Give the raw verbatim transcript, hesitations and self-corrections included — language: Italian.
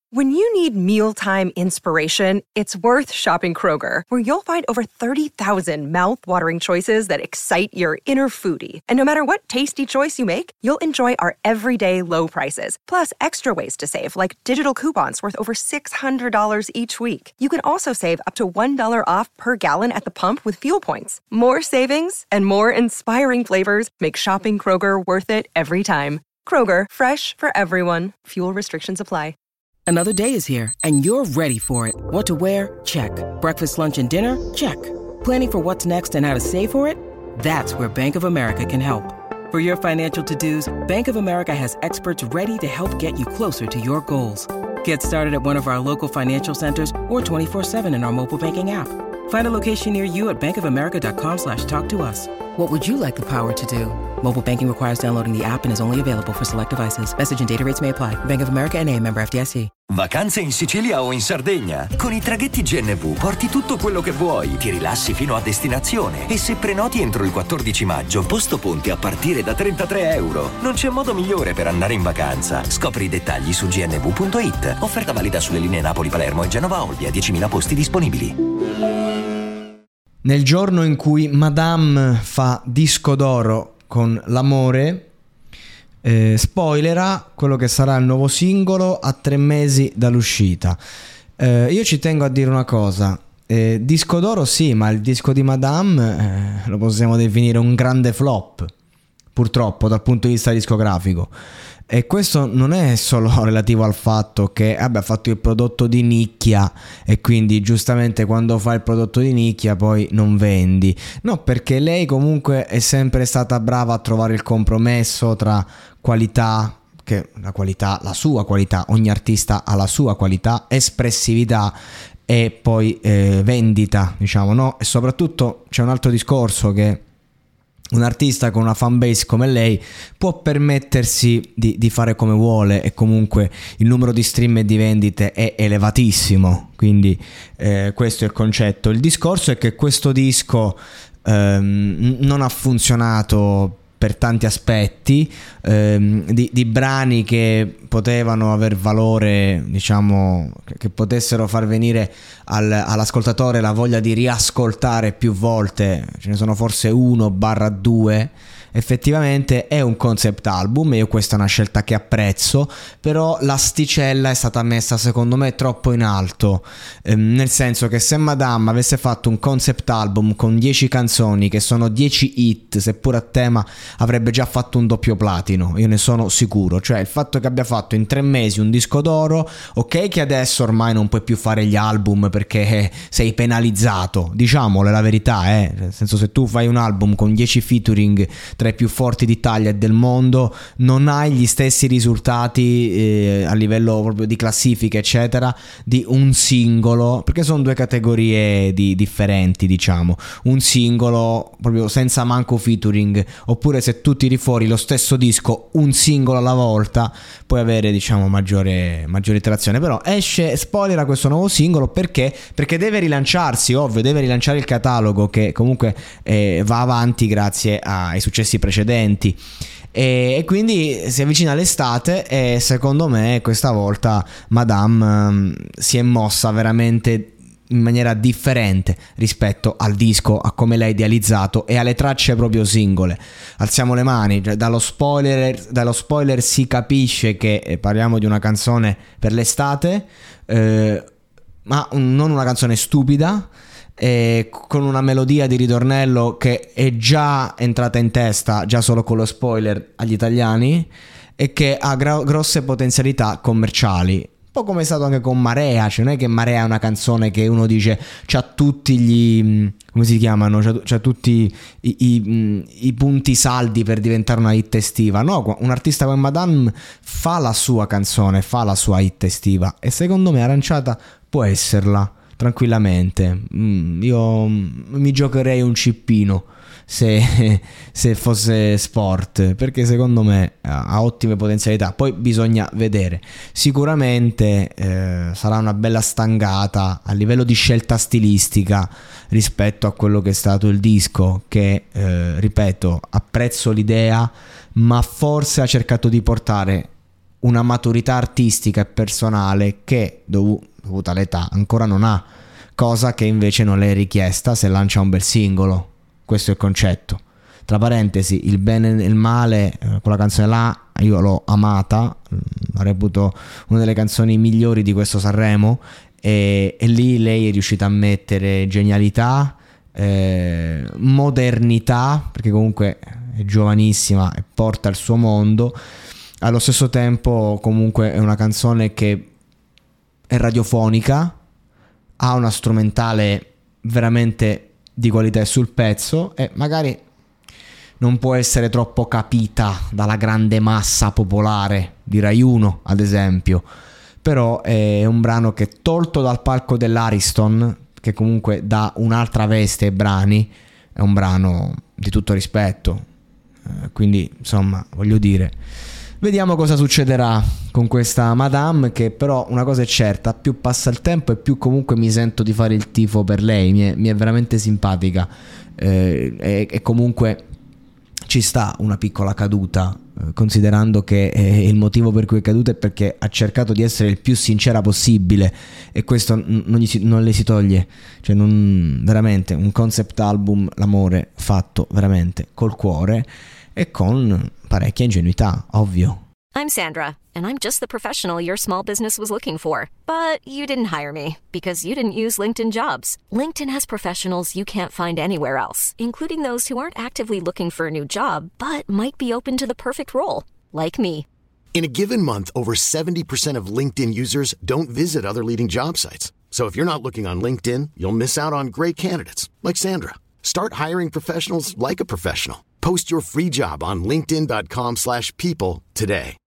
When you need mealtime inspiration, it's worth shopping Kroger, where you'll find over thirty thousand mouth-watering choices that excite your inner foodie. And no matter what tasty choice you make, you'll enjoy our everyday low prices, plus extra ways to save, like digital coupons worth over six hundred dollars each week. You can also save up to one dollar off per gallon at the pump with fuel points. More savings and more inspiring flavors make shopping Kroger worth it every time. Kroger, fresh for everyone. Fuel restrictions apply. Another day is here, and you're ready for it. What to wear? Check. Breakfast, lunch, and dinner? Check. Planning for what's next and how to save for it? That's where Bank of America can help. For your financial to-dos, Bank of America has experts ready to help get you closer to your goals. Get started at one of our local financial centers or twenty-four seven in our mobile banking app. Find a location near you at bankofamerica.com slash talk to us. What would you like the power to do? Mobile banking requires downloading the app and is only available for select devices. Message and data rates may apply. Bank of America N A, member F D I C. Vacanze in Sicilia o in Sardegna? Con i traghetti G N V porti tutto quello che vuoi, ti rilassi fino a destinazione e se prenoti entro il quattordici maggio, posto ponti a partire da trentatré euro. Non c'è modo migliore per andare in vacanza. Scopri i dettagli su g n v punto i t. Offerta valida sulle linee Napoli-Palermo e Genova-Olbia, diecimila posti disponibili. Nel giorno in cui Madame fa disco d'oro con L'amore, eh, spoilera quello che sarà il nuovo singolo a tre mesi dall'uscita. Eh, io ci tengo a dire una cosa, eh, disco d'oro sì, ma il disco di Madame eh, lo possiamo definire un grande flop, purtroppo, dal punto di vista discografico. E questo non è solo relativo al fatto che vabbè, ha fatto il prodotto di nicchia e quindi giustamente quando fa il prodotto di nicchia poi non vendi. No, perché lei comunque è sempre stata brava a trovare il compromesso tra qualità, che la qualità, la sua qualità, ogni artista ha la sua qualità, espressività e poi eh, vendita, diciamo, no? E soprattutto c'è un altro discorso, che un artista con una fanbase come lei può permettersi di, di fare come vuole e comunque il numero di stream e di vendite è elevatissimo, quindi eh, questo è il concetto. Il discorso è che questo disco ehm, non ha funzionato per tanti aspetti, ehm, di, di brani che potevano aver valore, diciamo, che, che potessero far venire al, all'ascoltatore la voglia di riascoltare più volte, ce ne sono forse uno barra due. Effettivamente è un concept album e io questa è una scelta che apprezzo, però l'asticella è stata messa secondo me troppo in alto, ehm, nel senso che se Madame avesse fatto un concept album con dieci canzoni che sono dieci hit, seppur a tema, avrebbe già fatto un doppio platino, io ne sono sicuro. Cioè il fatto che abbia fatto in tre mesi un disco d'oro, ok che adesso ormai non puoi più fare gli album perché sei penalizzato, diciamole la verità, eh. Nel senso, se tu fai un album con dieci featuring tra i più forti d'Italia e del mondo, non hai gli stessi risultati eh, a livello proprio di classifica eccetera di un singolo, perché sono due categorie di, differenti, diciamo. Un singolo proprio senza manco featuring, oppure se tu tiri fuori lo stesso disco un singolo alla volta puoi avere, diciamo, maggiore, maggiore trazione. Però esce, spoiler, questo nuovo singolo perché perché deve rilanciarsi, ovvio, deve rilanciare il catalogo che comunque eh, va avanti grazie ai successi precedenti, e, e quindi si avvicina l'estate e secondo me questa volta Madame um, si è mossa veramente in maniera differente rispetto al disco, a come l'ha idealizzato e alle tracce proprio singole. Alziamo le mani, cioè, dallo spoiler dallo spoiler si capisce che eh, parliamo di una canzone per l'estate, eh, ma un, non una canzone stupida, eh, con una melodia di ritornello che è già entrata in testa già solo con lo spoiler agli italiani e che ha gra- grosse potenzialità commerciali. Un po' come è stato anche con Marea, cioè non è che Marea è una canzone che uno dice c'ha tutti gli, come si chiamano, c'ha, c'ha tutti i, i, i punti saldi per diventare una hit estiva. No, un artista come Madame fa la sua canzone, fa la sua hit estiva e secondo me Aranciata può esserla tranquillamente. Mm, io mi giocherei un cippino se, se fosse sport, perché secondo me ha ottime potenzialità. Poi bisogna vedere. Sicuramente eh, sarà una bella stangata a livello di scelta stilistica rispetto a quello che è stato il disco, che eh, ripeto, apprezzo l'idea, ma forse ha cercato di portare una maturità artistica e personale che dov- dovuta all'età ancora non ha, cosa che invece non le è richiesta se lancia un bel singolo. Questo è il concetto. Tra parentesi, il bene e il male, eh, quella canzone là io l'ho amata, la reputo una delle canzoni migliori di questo Sanremo, e, e lì lei è riuscita a mettere genialità, eh, modernità, perché comunque è giovanissima e porta il suo mondo. Allo stesso tempo comunque è una canzone che è radiofonica, ha una strumentale veramente di qualità sul pezzo e magari non può essere troppo capita dalla grande massa popolare di Rai uno, ad esempio, però è un brano che, tolto dal palco dell'Ariston, che comunque dà un'altra veste ai brani, è un brano di tutto rispetto. Eh, quindi insomma, voglio dire, vediamo cosa succederà con questa Madame, che però una cosa è certa: più passa il tempo e più comunque mi sento di fare il tifo per lei. Mi è, mi è veramente simpatica, eh, e, e comunque ci sta una piccola caduta, eh, considerando che eh, il motivo per cui è caduta è perché ha cercato di essere il più sincera possibile, e questo n- non, gli si, non le si toglie. Cioè, non, veramente un concept album, l'amore fatto veramente col cuore e con parecchia ingenuità, ovvio. I'm Sandra, and I'm just the professional your small business was looking for. But you didn't hire me because you didn't use LinkedIn Jobs. LinkedIn has professionals you can't find anywhere else, including those who aren't actively looking for a new job, but might be open to the perfect role, like me. In a given month, over seventy percent of LinkedIn users don't visit other leading job sites. So if you're not looking on LinkedIn, you'll miss out on great candidates, like Sandra. Start hiring professionals like a professional. Post your free job on linkedin dot com slash people today.